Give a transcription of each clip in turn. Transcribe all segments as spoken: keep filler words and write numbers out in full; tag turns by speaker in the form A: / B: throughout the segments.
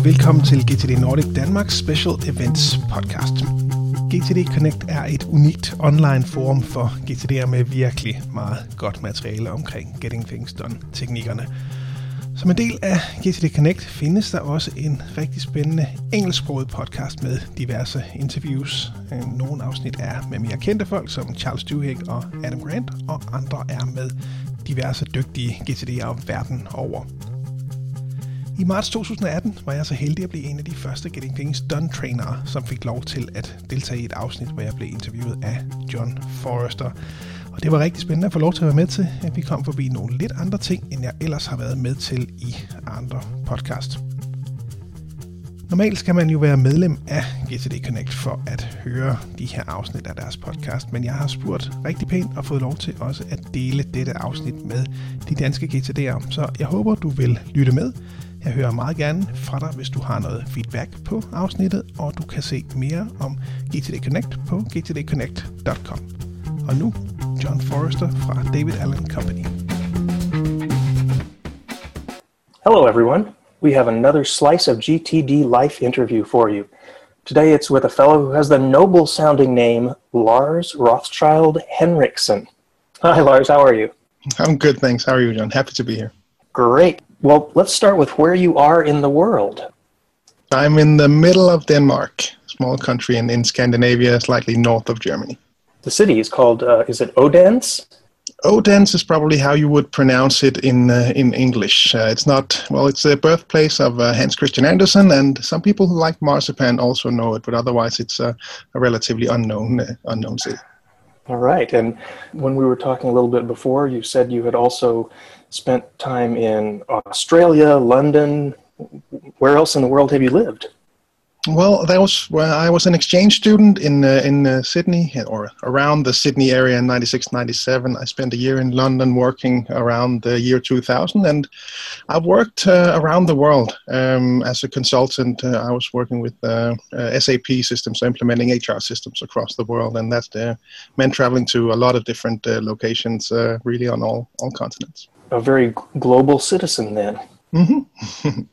A: velkommen til G T D Nordic Danmarks Special Events podcast. G T D Connect er et unikt online forum for G T D'er med virkelig meget godt materiale omkring Getting Things Done-teknikkerne. Som en del af G T D Connect findes der også en rigtig spændende engelsksproget podcast med diverse interviews. Nogle afsnit er med mere kendte folk som Charles Duhigg og Adam Grant, og andre er med diverse dygtige G T D'er verden over. I marts to tusind atten var jeg så heldig at blive en af de første Getting Things Done-trainere, som fik lov til at deltage i et afsnit, hvor jeg blev interviewet af John Forrester. Og det var rigtig spændende at få lov til at være med til, at vi kom forbi nogle lidt andre ting, end jeg ellers har været med til i andre podcast. Normalt skal man jo være medlem af G T D Connect for at høre de her afsnit af deres podcast, men jeg har spurgt rigtig pænt og fået lov til også at dele dette afsnit med de danske G T D'er, så jeg håber, du vil lytte med. Jeg hører meget gerne fra dig, hvis du har noget feedback på afsnittet, og du kan se mere om G T D Connect på g t d connect punktum com. Og nu John Forrester fra David Allen Company.
B: Hello everyone. We have another slice of G T D life interview for you. Today it's with a fellow who has the noble sounding name Lars Rothschild Henriksen. Hi Lars, how are you?
A: I'm good, thanks. How are you, John? Happy to be here.
B: Great. Well, let's start with where you are in the world.
A: I'm in the middle of Denmark, a small country in, in Scandinavia, slightly north of Germany.
B: The city is called, uh, is it Odense?
A: Odense is probably how you would pronounce it in uh, in English. Uh, it's not, well, it's the birthplace of uh, Hans Christian Andersen, and some people who like marzipan also know it, but otherwise it's uh, a relatively unknown uh, unknown city.
B: All right. And when we were talking a little bit before, you said you had also spent time in Australia, London. Where else in the world have you lived?
A: Well, that was where I was an exchange student in uh, in uh, Sydney, or around the Sydney area in ninety-six ninety-seven. I spent a year in London working around the year two thousand, and I've worked uh, around the world um, as a consultant. Uh, I was working with uh, uh, S A P systems, so implementing H R systems across the world, and that uh, meant traveling to a lot of different uh, locations, uh, really on all, all continents.
B: A very global citizen then.
A: Mm-hmm.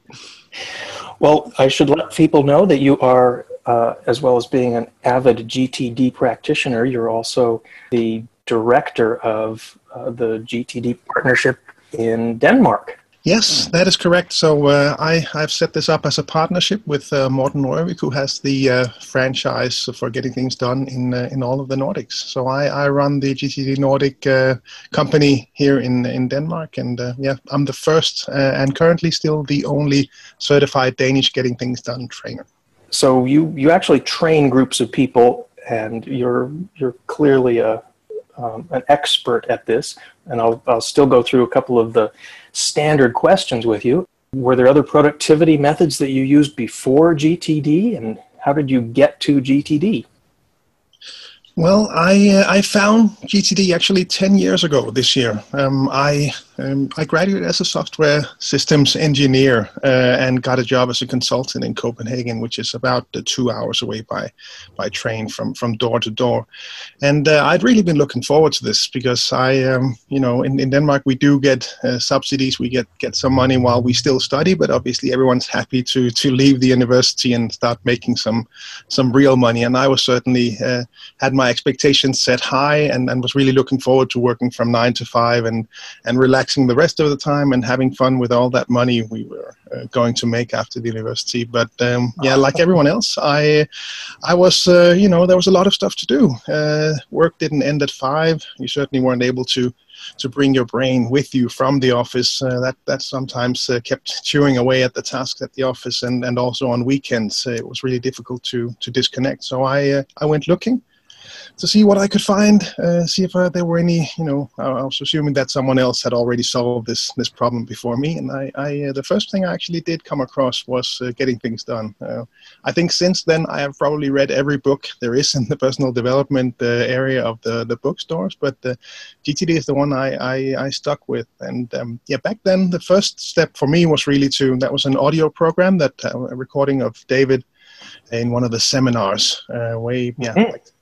B: Well, I should let people know that you are, uh, as well as being an avid G T D practitioner, you're also the director of uh, the G T D partnership in Denmark.
A: Yes, that is correct. So uh, I, I've set this up as a partnership with uh, Morten Røvik, who has the uh, franchise for Getting Things Done in uh, in all of the Nordics. So I, I run the G T D Nordic uh, company here in, in Denmark. And uh, yeah, I'm the first uh, and currently still the only certified Danish Getting Things Done trainer.
B: So you, you actually train groups of people, and you're you're clearly a um, an expert at this. And I'll I'll still go through a couple of the standard questions with you. Were there other productivity methods that you used before G T D, and how did you get to G T D?
A: Well, I uh, I found G T D actually ten years ago this year. Um, I um, I graduated as a software systems engineer uh, and got a job as a consultant in Copenhagen, which is about uh, two hours away by by train from, from door to door. And uh, I'd really been looking forward to this because I, um, you know, in, in Denmark we do get uh, subsidies, we get, get some money while we still study, but obviously everyone's happy to to leave the university and start making some some real money. And I was certainly uh, had my expectations set high, and, and was really looking forward to working from nine to five and, and relaxing the rest of the time and having fun with all that money we were uh, going to make after the university. But um, yeah, like everyone else, I I was, uh, you know, there was a lot of stuff to do. Uh, work didn't end at five. You certainly weren't able to to bring your brain with you from the office. Uh, that that sometimes uh, kept chewing away at the tasks at the office, and, and also on weekends uh, it was really difficult to to disconnect. So I uh, I went looking to see what I could find, uh, see if uh, there were any, you know, I was assuming that someone else had already solved this this problem before me. And I, I uh, the first thing I actually did come across was uh, Getting Things Done. Uh, I think since then I have probably read every book there is in the personal development uh, area of the, the bookstores, but uh, G T D is the one I, I, I stuck with. And um, yeah, back then the first step for me was really to, that was an audio program, that uh, a recording of David in one of the seminars uh, way, yeah,
B: Mm-hmm.
A: like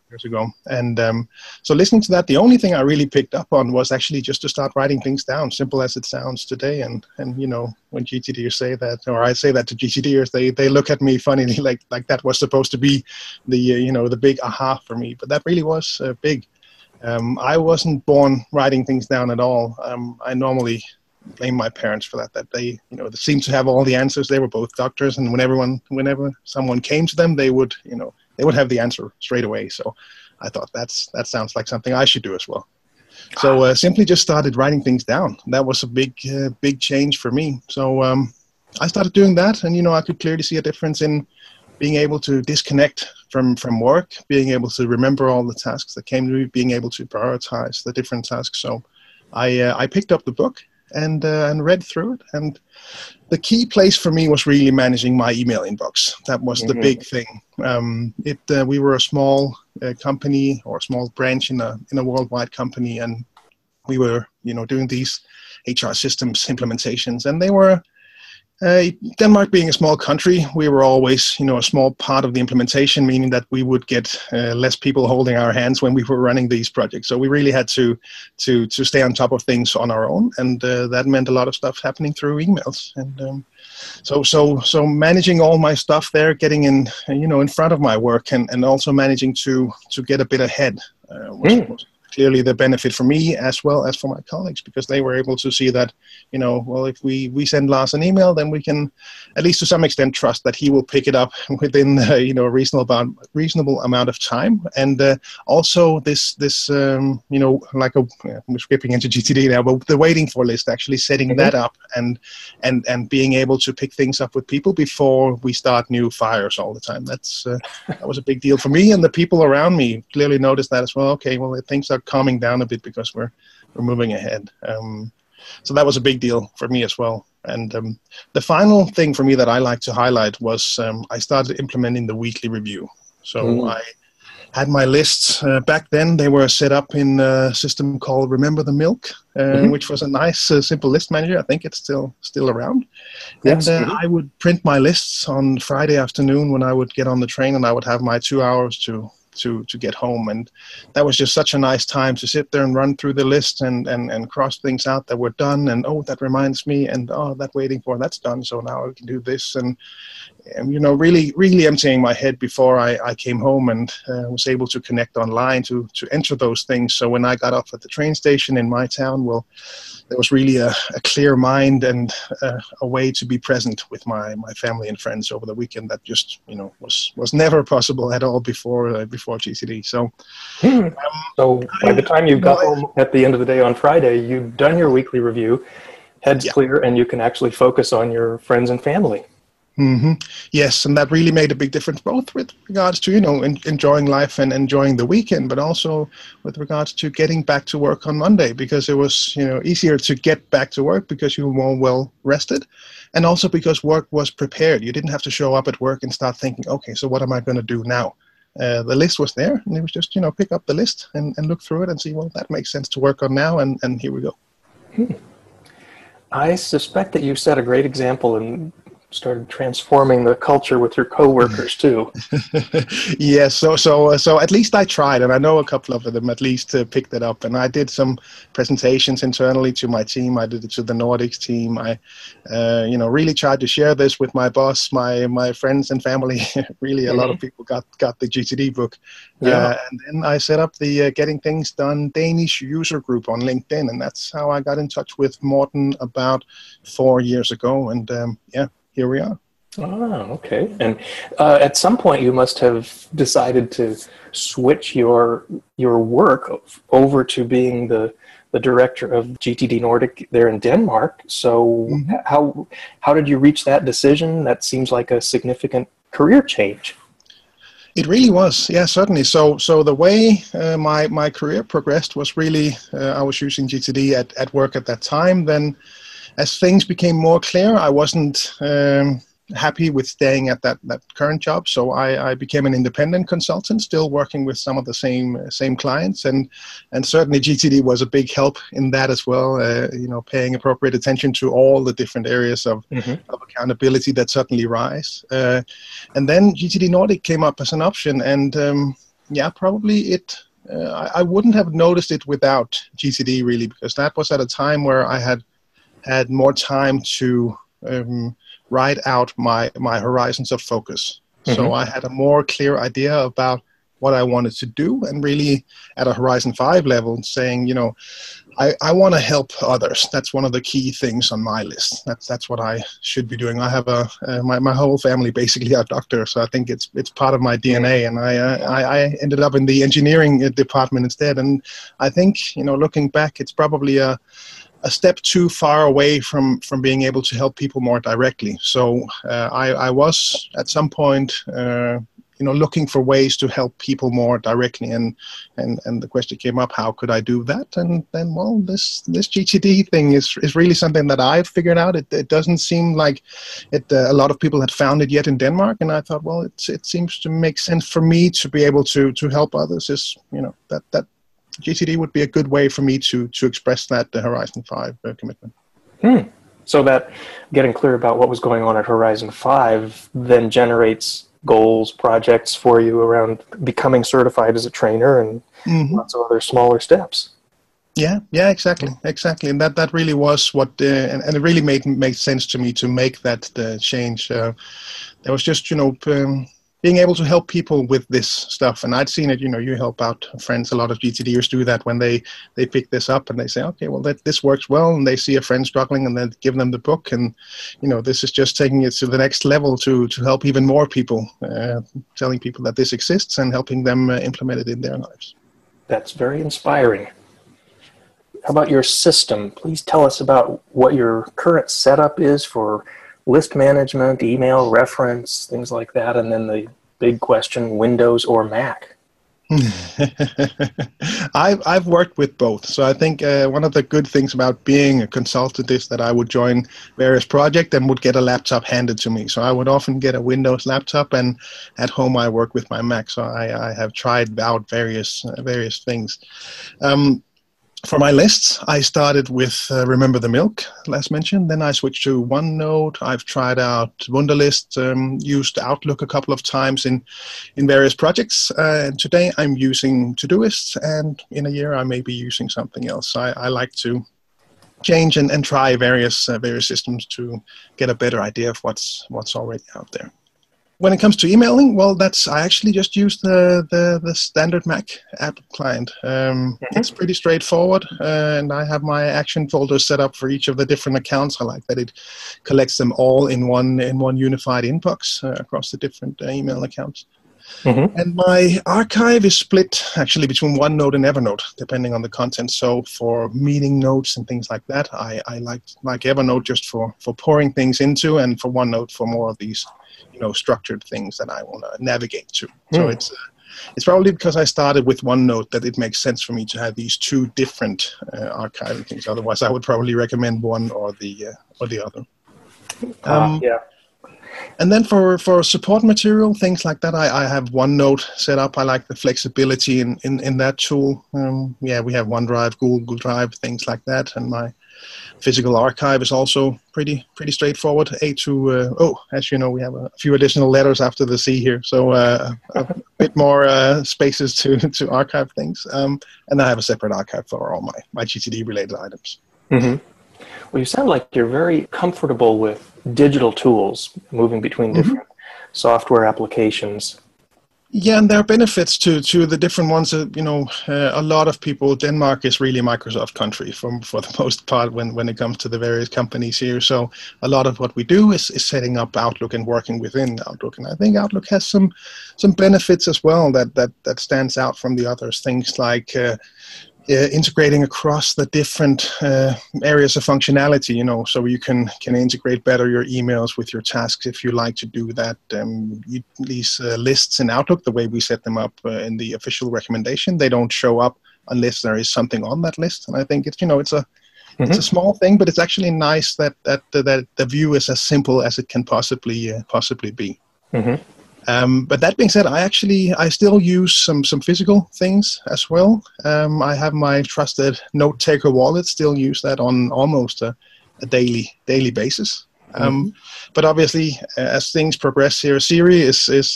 A: years ago. And um, so listening to that, the only thing I really picked up on was actually just to start writing things down, simple as it sounds today. And, and you know, when GTDers say that, or I say that to GTDers, they, they look at me funnily, like like that was supposed to be the, uh, you know, the big aha for me. But that really was uh, big. Um, I wasn't born writing things down at all. Um, I normally blame my parents for that, that they, you know, they seemed to have all the answers. They were both doctors, and whenever, whenever someone came to them, they would, you know, they would have the answer straight away. So I thought that's that sounds like something I should do as well. So uh, simply just started writing things down. That was a big, uh, big change for me. So um, I started doing that, and you know, I could clearly see a difference in being able to disconnect from from work, being able to remember all the tasks that came to me, being able to prioritize the different tasks. So I uh, I picked up the book and uh, and read through it, and the key place for me was really managing my email inbox. That was mm-hmm. the big thing. Um, it uh, we were a small uh, company, or a small branch in a in a worldwide company, and we were you know doing these H R systems implementations, and they were. Uh, Denmark being a small country, we were always, you know, a small part of the implementation, meaning that we would get uh, less people holding our hands when we were running these projects. So we really had to to to stay on top of things on our own, and uh, that meant a lot of stuff happening through emails. And um, so so so managing all my stuff there, getting in, you know, in front of my work, and, and also managing to to get a bit ahead uh, was, mm. was clearly the benefit for me as well as for my colleagues, because they were able to see that, you know, well, if we, we send Lars an email, then we can, at least to some extent, trust that he will pick it up within, uh, you know, a reasonable amount, reasonable amount of time. And uh, also this, this um, you know, like a, I'm skipping into G T D now, but the waiting for list, actually setting mm-hmm. that up and, and, and being able to pick things up with people before we start new fires all the time. That's, uh, that was a big deal for me, and the people around me clearly noticed that as well. Okay, well, things are calming down a bit because we're we're moving ahead. Um, so that was a big deal for me as well. And um, the final thing for me that I like to highlight was um, I started implementing the weekly review. So mm. I had my lists uh, back then. They were set up in a system called Remember the Milk, uh, mm-hmm. which was a nice, uh, simple list manager. I think it's still still around. Yes. And uh, mm-hmm. I would print my lists on Friday afternoon when I would get on the train, and I would have my two hours to to to get home. And that was just such a nice time to sit there and run through the list and and and cross things out that were done, and oh, that reminds me, and oh, that waiting for, that's done, so now I can do this. And, and you know, really really emptying my head before I, I came home, and uh, was able to connect online to to enter those things. So when I got off at the train station in my town, well, there was really a, a clear mind and uh, a way to be present with my, my family and friends over the weekend that just, you know, was, was never possible at all before uh, before G C D. So,
B: um, so by the time you got home at the end of the day on Friday, you'd done your weekly review, head's yeah. clear, and you can actually focus on your friends and family.
A: Mm-hmm. Yes, and that really made a big difference, both with regards to, you know, en- enjoying life and enjoying the weekend, but also with regards to getting back to work on Monday, because it was, you know, easier to get back to work because you were more well rested, and also because work was prepared. You didn't have to show up at work and start thinking, okay, so what am I going to do now? Uh, the list was there, and it was just, you know, pick up the list and, and look through it and see, well, that makes sense to work on now, and, and here we go.
B: Hmm. I suspect that you set a great example in started transforming the culture with your coworkers too.
A: Yes, so so uh, so at least I tried, and I know a couple of them at least uh, picked it up. And I did some presentations internally to my team. I did it to the Nordics team. I, uh, you know, really tried to share this with my boss, my my friends and family. Really, a mm-hmm. lot of people got got the G T D book. Yeah, uh, and then I set up the uh, Getting Things Done Danish user group on LinkedIn, and that's how I got in touch with Morten about four years ago. And um, yeah. Here we are.
B: Oh, okay. And uh, at some point, you must have decided to switch your your work over to being the the director of G T D Nordic there in Denmark. So, mm-hmm. how how did you reach that decision? That seems like a significant career change.
A: It really was, yeah, certainly. So, so the way uh, my my career progressed was really uh, I was using G T D at at work at that time. Then, as things became more clear, I wasn't um, happy with staying at that, that current job. So I, I became an independent consultant, still working with some of the same uh, same clients, and and certainly G T D was a big help in that as well. Uh, you know, paying appropriate attention to all the different areas of, mm-hmm. of accountability that certainly rise. Uh, and then G T D Nordic came up as an option, and um, yeah, probably it. Uh, I, I wouldn't have noticed it without G T D really, because that was at a time where I had had more time to um, write out my my horizons of focus. Mm-hmm. So I had a more clear idea about what I wanted to do, and really at a Horizon five level, saying, you know, I, I want to help others. That's one of the key things on my list. That's that's what I should be doing. I have a uh, my my whole family basically are doctors, so I think it's it's part of my D N A. And I, uh, I I ended up in the engineering department instead. And I think, you know, looking back, it's probably a a step too far away from from being able to help people more directly. So uh, I I was at some point. Uh, you know, looking for ways to help people more directly, and, and, and the question came up, how could I do that? And then, well, this, this G T D thing is, is really something that I've figured out. It, it doesn't seem like it, uh, a lot of people had found it yet in Denmark. And I thought, well, it's, it seems to make sense for me to be able to, to help others. Is, you know, that, that G T D would be a good way for me to, to express that uh, Horizon five uh, commitment.
B: Hmm. So that getting clear about what was going on at Horizon five then generates goals, projects for you around becoming certified as a trainer, and mm-hmm. lots of other smaller steps.
A: Yeah, yeah, exactly, exactly, and that, that really was what, uh, and, and it really made made sense to me to make that uh, change. Uh, there was just, you know, um, being able to help people with this stuff, and I'd seen it. You know, you help out friends. A lot of GTDers do that when they they pick this up and they say, okay, well, that this works well, and they see a friend struggling, and then give them the book, and you know, this is just taking it to the next level to to help even more people, uh, telling people that this exists and helping them uh, implement it in their lives.
B: That's very inspiring. How about your system? Please tell us about what your current setup is for list management, email, reference, things like that, and then the big question, Windows or Mac?
A: I've, I've worked with both. So I think uh, one of the good things about being a consultant is that I would join various projects and would get a laptop handed to me. So I would often get a Windows laptop, and at home I work with my Mac. So I, I have tried out various, uh, various things. Um, For my lists, I started with uh, Remember the Milk, last mentioned. Then I switched to OneNote. I've tried out Wunderlist, um, used Outlook a couple of times in, in various projects. Uh, and today I'm using Todoist, and in a year I may be using something else. I, I like to change and, and try various uh, various systems to get a better idea of what's what's already out there. When it comes to emailing, well, that's I actually just use the, the, the standard Mac app client. Um, mm-hmm. It's pretty straightforward, uh, and I have my action folder set up for each of the different accounts. I like that it collects them all in one in one unified inbox uh, across the different uh, email accounts. Mm-hmm. And my archive is split actually between OneNote and Evernote, depending on the content. So for meeting notes and things like that, I, I like like Evernote just for, for pouring things into, and for OneNote for more of these, you know, structured things that I want to navigate to. Mm. So it's uh, it's probably because I started with OneNote that it makes sense for me to have these two different uh, archiving things. Otherwise, I would probably recommend one or the uh, or the other. Um,
B: uh, yeah.
A: And then for, for support material, things like that, I, I have OneNote set up. I like the flexibility in, in, in that tool. Um, yeah, we have OneDrive, Google Drive, things like that. And my physical archive is also pretty pretty straightforward. A to, uh, oh, as you know, we have a few additional letters after the C here. So uh, a bit more uh, spaces to, to archive things. Um, and I have a separate archive for all my, my G T D-related items.
B: Mm-hmm. Well, you sound like you're very comfortable with digital tools, moving between different mm-hmm. software applications.
A: Yeah, and there are benefits to, to the different ones. Uh, you know, uh, a lot of people, Denmark is really Microsoft country for, for the most part when, when it comes to the various companies here. So a lot of what we do is, is setting up Outlook and working within Outlook. And I think Outlook has some some benefits as well that, that, that stands out from the others. Things like uh, Uh, integrating across the different uh, areas of functionality, you know, so you can can integrate better your emails with your tasks if you like to do that. Um, you, these uh, lists in Outlook, the way we set them up uh, in the official recommendation, they don't show up unless there is something on that list. And I think it's, you know, it's a mm-hmm. it's a small thing, but it's actually nice that that uh, that the view is as simple as it can possibly uh, possibly be. Mm-hmm. Um, but that being said, I actually, I still use some, some physical things as well. Um, I have my trusted note-taker wallet, still use that on almost a, a daily daily basis. Um, mm-hmm. But obviously, as things progress here, Siri is, is, is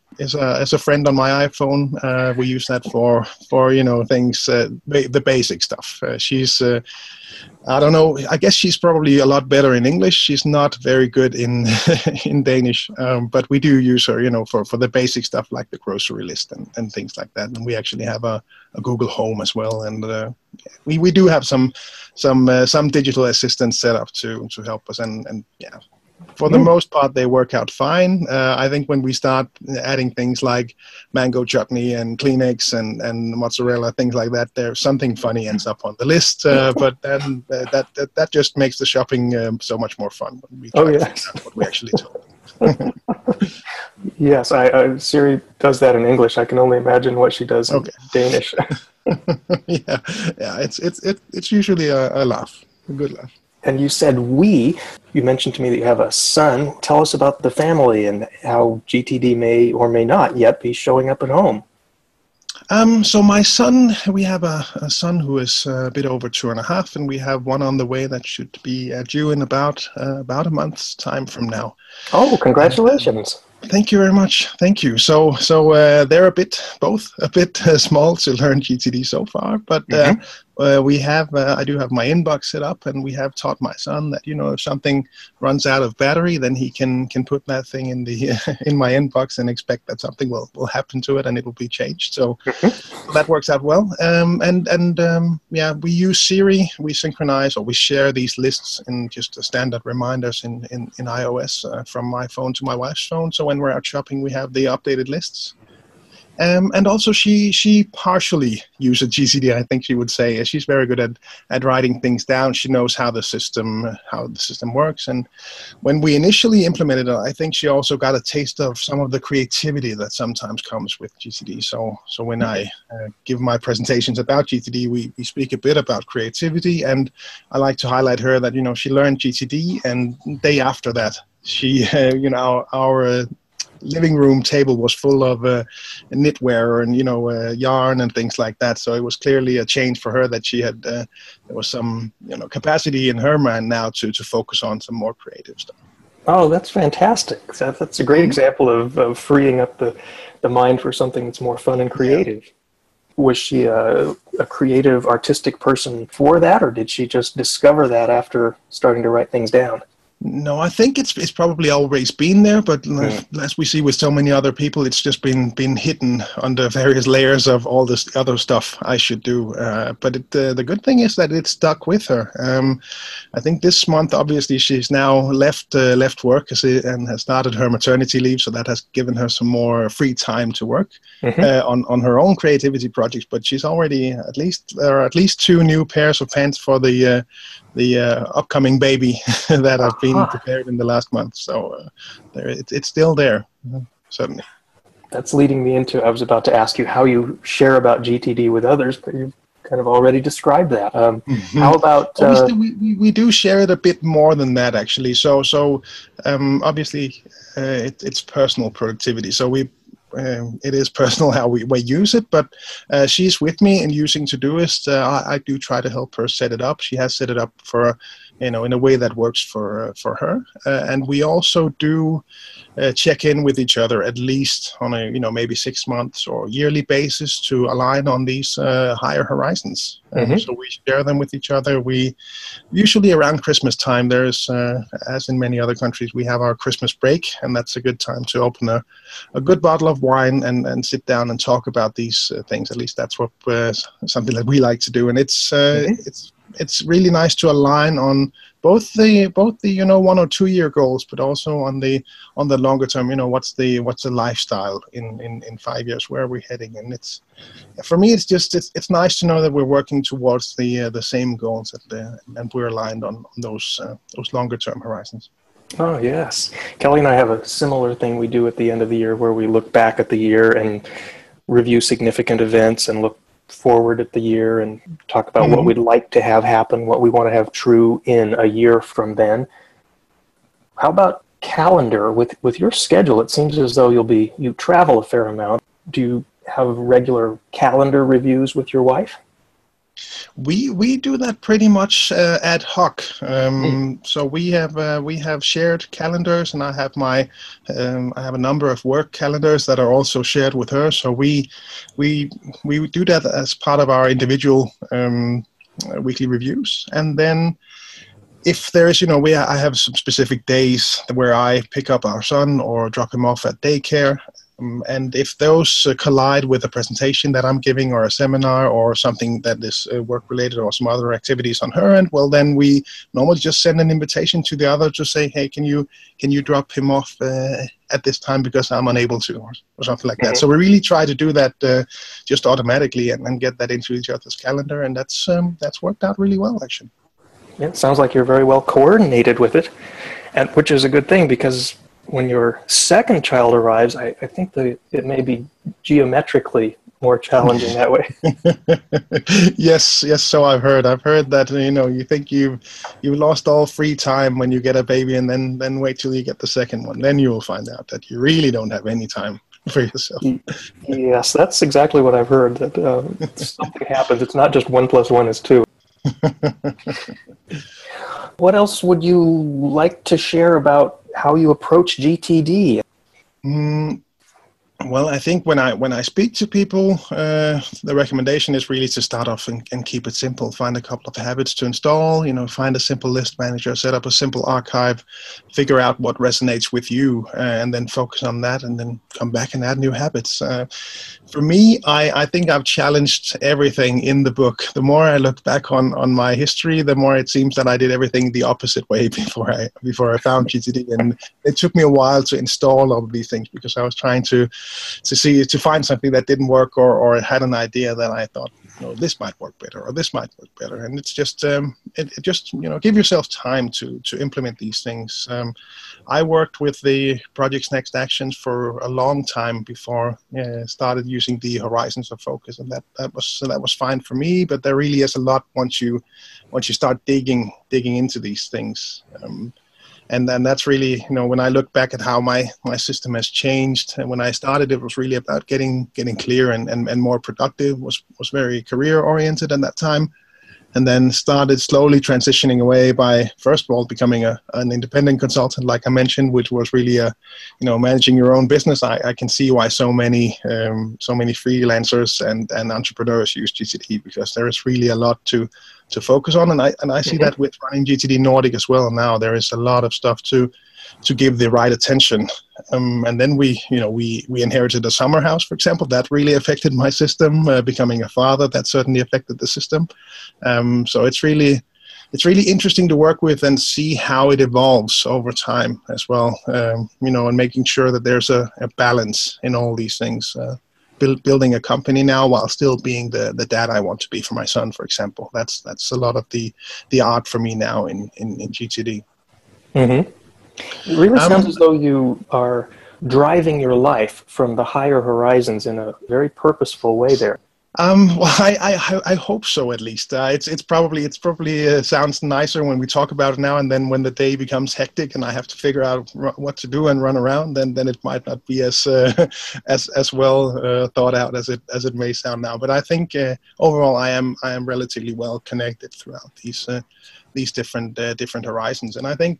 A: is a is a friend on my iPhone. Uh, we use that for for you know things, uh, ba- the basic stuff. Uh, she's uh, I don't know. I guess she's probably a lot better in English. She's not very good in in Danish, um, but we do use her, you know, for, for the basic stuff like the grocery list and, and things like that. And we actually have a, a Google Home as well, and uh, we we do have some some uh, some digital assistants set up to to help us. And and yeah, for the most part, they work out fine. Uh, I think when we start adding things like mango chutney and Kleenex and, and mozzarella, things like that, there's something funny ends up on the list. Uh, but then uh, that, that that just makes the shopping um, so much more fun when we try
B: Oh,
A: to
B: yes.
A: figure out what we actually told.
B: Yes, I, I, Siri does that in English. I can only imagine what she does in
A: Okay.
B: Danish.
A: yeah, yeah, it's it's it, it's usually a, a laugh, a good laugh.
B: And you said we. You mentioned to me that you have a son. Tell us about the family and how G T D may or may not yet be showing up at home.
A: Um, so my son, we have a, a son who is a bit over two and a half, and we have one on the way that should be uh, due in about uh, about a month's time from now.
B: Oh, congratulations.
A: Thank you very much. Thank you. So, so uh, they're a bit, both a bit uh, small to learn G T D so far, but uh,
B: Mhm.
A: uh, we have, uh, I do have my inbox set up, and we have taught my son that, you know, if something runs out of battery, then he can can put that thing in the in my inbox and expect that something will, will happen to it and it will be changed. So that works out well. Um, and and um, yeah, we use Siri. We synchronize or we share these lists in just the standard reminders in in, in iOS uh, from my phone to my wife's phone. So when we're out shopping, we have the updated lists. Um, and also, she she partially uses G C D. I think she would say she's very good at, at writing things down. She knows how the system how the system works. And when we initially implemented it, I think she also got a taste of some of the creativity that sometimes comes with G C D. So so when I uh, give my presentations about G T D, we we speak a bit about creativity, and I like to highlight her that, you know, she learned G T D, and day after that, she uh, you know our, our uh, living room table was full of uh, knitwear and, you know, uh, yarn and things like that. So it was clearly a change for her that she had, uh, there was some, you know, capacity in her mind now to, to focus on some more creative stuff.
B: Oh, that's fantastic. That, that's a great example of, of freeing up the, the mind for something that's more fun and creative. Yeah. Was she a, a creative, artistic person for that, or did she just discover that after starting to write things down?
A: No, I think it's it's probably always been there, but mm. as we see with so many other people, it's just been been hidden under various layers of all this other stuff I should do. Uh, but it, uh, the good thing is that it stuck with her. Um, I think this month, obviously, she's now left uh, left work and has started her maternity leave, so that has given her some more free time to work mm-hmm. uh, on on her own creativity projects. But she's already at least there are at least two new pairs of pants for the uh, the uh, upcoming baby that have been uh-huh. prepared in the last month. So uh, there, it, it's still there, uh, certainly.
B: That's leading me into, I was about to ask you how you share about G T D with others, but you've kind of already described that. Um, mm-hmm. How about... Uh,
A: obviously, we, we, we do share it a bit more than that, actually. So, so um, obviously, uh, it, it's personal productivity. So we Um, it is personal how we, we use it, but uh, she's with me in using Todoist. Uh, I, I do try to help her set it up. She has set it up for, you know, in a way that works for uh, for her. Uh, and we also do uh, check in with each other at least on a, you know, maybe six months or yearly basis to align on these uh, higher horizons. Mm-hmm. Um, so we share them with each other. We usually around Christmas time, there's, uh, as in many other countries, we have our Christmas break, and that's a good time to open a, a good bottle of wine and, and sit down and talk about these uh, things. At least that's what uh, something that we like to do, and it's uh, mm-hmm. it's it's really nice to align on both the both the you know one or two year goals, but also on the on the longer term. You know, what's the what's the lifestyle in, in, in five years? Where are we heading? And it's for me, it's just it's it's nice to know that we're working towards the uh, the same goals at the, and we're aligned on, on those uh, those longer term horizons.
B: Oh, yes. Kelly and I have a similar thing we do at the end of the year where we look back at the year and review significant events and look forward at the year and talk about mm-hmm. what we'd like to have happen, what we want to have true in a year from then. How about calendar? With with your schedule, it seems as though you'll be you travel a fair amount. Do you have regular calendar reviews with your wife?
A: We we do that pretty much uh, ad hoc. Um,
B: Mm.
A: so we have uh, we have shared calendars, and I have my um, I have a number of work calendars that are also shared with her. So we we we do that as part of our individual um, uh, weekly reviews, and then if there is, you know, we I have some specific days where I pick up our son or drop him off at daycare. Um, and if those uh, collide with a presentation that I'm giving or a seminar or something that is uh, work-related or some other activities on her end, well, then we normally just send an invitation to the other to say, hey, can you can you drop him off uh, at this time because I'm unable to, or, or something like that.
B: Mhm.
A: So we really try to do that uh, just automatically and, and get that into each other's calendar, and that's um, that's worked out really well, actually.
B: It sounds like you're very well coordinated with it, and which is a good thing, because when your second child arrives, I, I think that it may be geometrically more challenging that way.
A: yes, yes. So I've heard. I've heard that, you know, you think you've you lost all free time when you get a baby, and then then wait till you get the second one. Then you will find out that you really don't have any time for yourself.
B: Yes, that's exactly what I've heard. That uh, something happens. It's not just one plus one is two. What else would you like to share about how you approach G T D?
A: Mm, well, I think when I when I speak to people, uh, the recommendation is really to start off and, and keep it simple. Find a couple of habits to install. You know, find a simple list manager, set up a simple archive, figure out what resonates with you, uh, and then focus on that, and then come back and add new habits. Uh, for me, I, I think I've challenged everything in the book. The more I look back on, on my history, the more it seems that I did everything the opposite way before I before I found G T D, and it took me a while to install all of these things because I was trying to. to see to find something that didn't work, or, or had an idea that I thought, you know, this might work better or this might work better. And it's just um, it, it just, you know, give yourself time to to implement these things. Um, I worked with the Project's Next Actions for a long time before uh, started using the Horizons of Focus, and that that was so that was fine for me. But there really is a lot once you once you start digging digging into these things. Um, And then that's really, you know, when I look back at how my, my system has changed, and when I started, it was really about getting getting clear and, and, and more productive, was, was very career oriented at that time. And then started slowly transitioning away by, first of all, becoming a, an independent consultant, like I mentioned, which was really, a, you know, managing your own business. I, I can see why so many um, so many freelancers and, and entrepreneurs use G T D, because there is really a lot to to focus on. And I and I see mm-hmm. that with running G T D Nordic as well now. There is a lot of stuff to to give the right attention. Um, and then we, you know, we, we inherited a summer house, for example. That really affected my system. Uh, becoming a father, that certainly affected the system. Um, so it's really, it's really interesting to work with and see how it evolves over time as well. Um, you know, and making sure that there's a, a balance in all these things. Uh, build, building a company now while still being the, the dad I want to be for my son, for example. That's that's a lot of the the art for me now in in, in G T D.
B: Mm-hmm. It really sounds
A: um,
B: as though you are driving your life from the higher horizons in a very purposeful way there.
A: Um, well, I, I, I hope so, at least. Uh, it's, it's probably, it's probably uh, sounds nicer when we talk about it now, and then when the day becomes hectic and I have to figure out r- what to do and run around, then, then it might not be as, uh, as, as well uh, thought out as it, as it may sound now. But I think uh, overall, I am, I am relatively well connected throughout these, uh, these different, uh, different horizons, and I think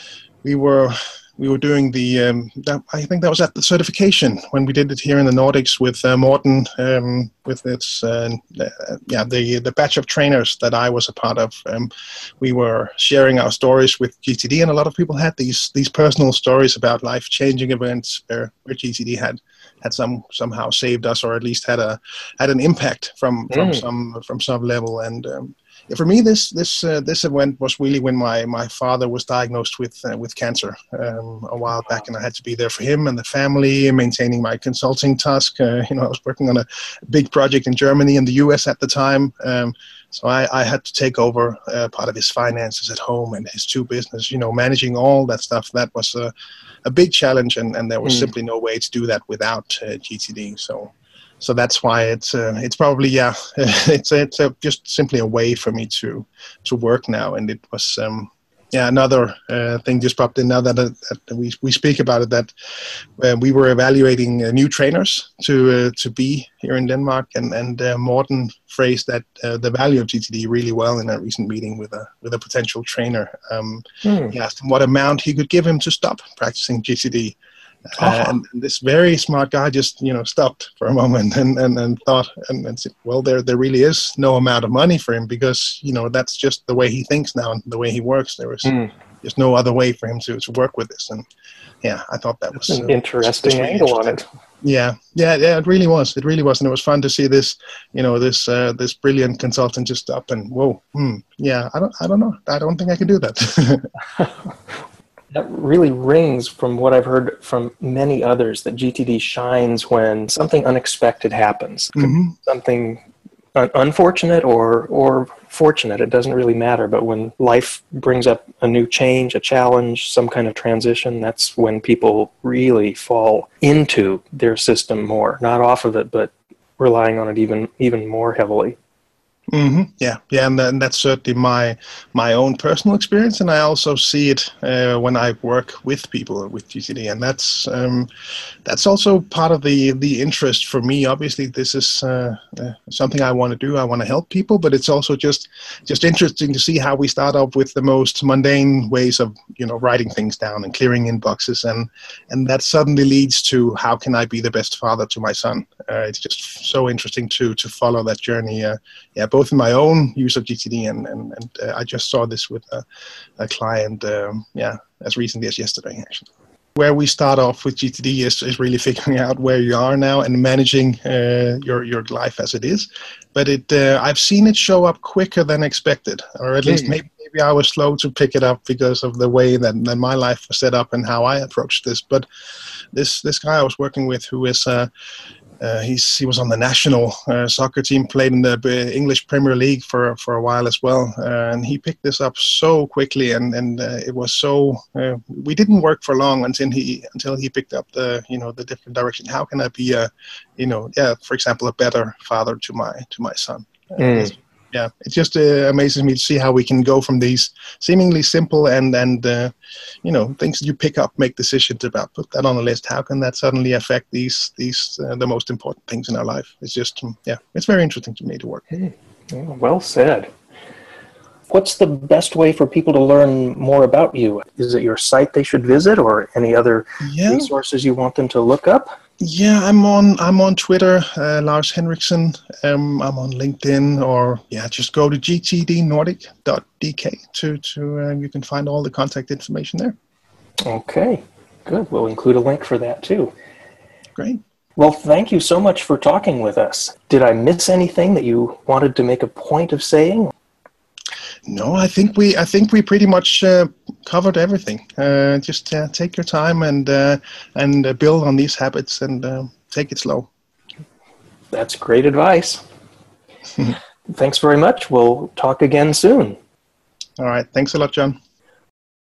A: we were. We were doing the, um, that, I think that was at the certification when we did it here in the Nordics with uh, Morten, um, with its, uh, uh, yeah, the the batch of trainers that I was a part of. Um, we were sharing our stories with G T D, and a lot of people had these these personal stories about life-changing events where, where G T D had had some somehow saved us, or at least had a had an impact from from
B: Mm.
A: some from some level. And um, for me, this this uh, this event was really when my, my father was diagnosed with uh, with cancer um, a while back, and I had to be there for him and the family, maintaining my consulting task. Uh, you know, I was working on a big project in Germany and the U S at the time, um, so I, I had to take over uh, part of his finances at home and his two business. You know, managing all that stuff, that was a, a big challenge, and, and there was mm. simply no way to do that without uh, G T D. So. So that's why it's uh, it's probably yeah it's it's uh, just simply a way for me to to work now, and it was um, yeah, another uh, thing just popped in now that, uh, that we we speak about it. That uh, we were evaluating uh, new trainers to uh, to be here in Denmark, and and uh, Morten phrased that uh, the value of G T D really well in a recent meeting with a with a potential trainer. Um,
B: Hmm.
A: He asked him what amount he could give him to stop practicing G T D. Uh,
B: Ah.
A: and this very smart guy just, you know, stopped for a moment and, and, and thought and, and said, well, there there really is no amount of money for him, because, you know, that's just the way he thinks now and the way he works. There was
B: Hmm.
A: just no other way for him to, to work with this. And yeah, I thought that
B: That's
A: was
B: an
A: uh,
B: interesting
A: really
B: angle on it.
A: Yeah, yeah, yeah. It really was. It really was, and it was fun to see this, you know, this uh, this brilliant consultant just stop and whoa, hmm, yeah. I don't, I don't know. I don't think I can do that.
B: That really rings from what I've heard from many others, that G T D shines when something unexpected happens.
A: Mm-hmm.
B: Something un- unfortunate or or fortunate, it doesn't really matter. But when life brings up a new change, a challenge, some kind of transition, that's when people really fall into their system more, not off of it, but relying on it even even more heavily.
A: Mm-hmm. Yeah, yeah, and, and that's certainly my my own personal experience, and I also see it uh, when I work with people with G T D, and that's um, that's also part of the the interest for me. Obviously, this is uh, uh, something I want to do. I want to help people, but it's also just just interesting to see how we start up with the most mundane ways of, you know, writing things down and clearing inboxes, and and that suddenly leads to how can I be the best father to my son. Uh, it's just so interesting to to follow that journey. Uh, yeah, both in my own use of G T D and and, and uh, I just saw this with a, a client. Um, yeah, as recently as yesterday, actually. Where we start off with G T D is, is really figuring out where you are now and managing uh, your your life as it is. But it uh, I've seen it show up quicker than expected, or at least
B: Mm.
A: maybe maybe I was slow to pick it up because of the way that, that my life was set up and how I approached this. But this this guy I was working with, who is uh, Uh, he's he was on the national uh, soccer team, played in the uh, English Premier League for for a while as well, uh, and he picked this up so quickly, and and uh, it was so uh, we didn't work for long until he until he picked up the, you know, the different direction. How can I be a, you know, yeah, for example, a better father to my to my son? Uh,
B: Mm.
A: it's, yeah, it just uh, amazes me to see how we can go from these seemingly simple and and uh, you know, things that you pick up, make decisions about, put that on a list. How can that suddenly affect these these uh, the most important things in our life? It's just um, yeah, it's very interesting to me to work.
B: Mm. Yeah, well said. What's the best way for people to learn more about you? Is it your site they should visit, or any other
A: Yeah.
B: resources you want them to look up?
A: Yeah, I'm on I'm on Twitter, uh, Lars Henriksen. Um, I'm on LinkedIn, or yeah, just go to g t d nordic dot d k to to uh, you can find all the contact information there.
B: Okay, good. We'll include a link for that too.
A: Great.
B: Well, thank you so much for talking with us. Did I miss anything that you wanted to make a point of saying?
A: No, I think we I think we pretty much uh, covered everything. Uh, just uh, take your time and uh, and uh, build on these habits, and uh, take it slow.
B: That's great advice. Thanks very much. We'll talk again soon.
A: All right. Thanks a lot, John.